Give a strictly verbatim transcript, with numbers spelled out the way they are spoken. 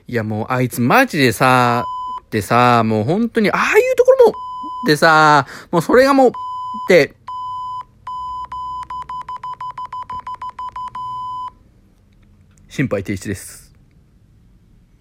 いやもうあいつマジでさ、でさ、もう本当にああいうところも、でさ、もうそれがもう、で、心肺停止です。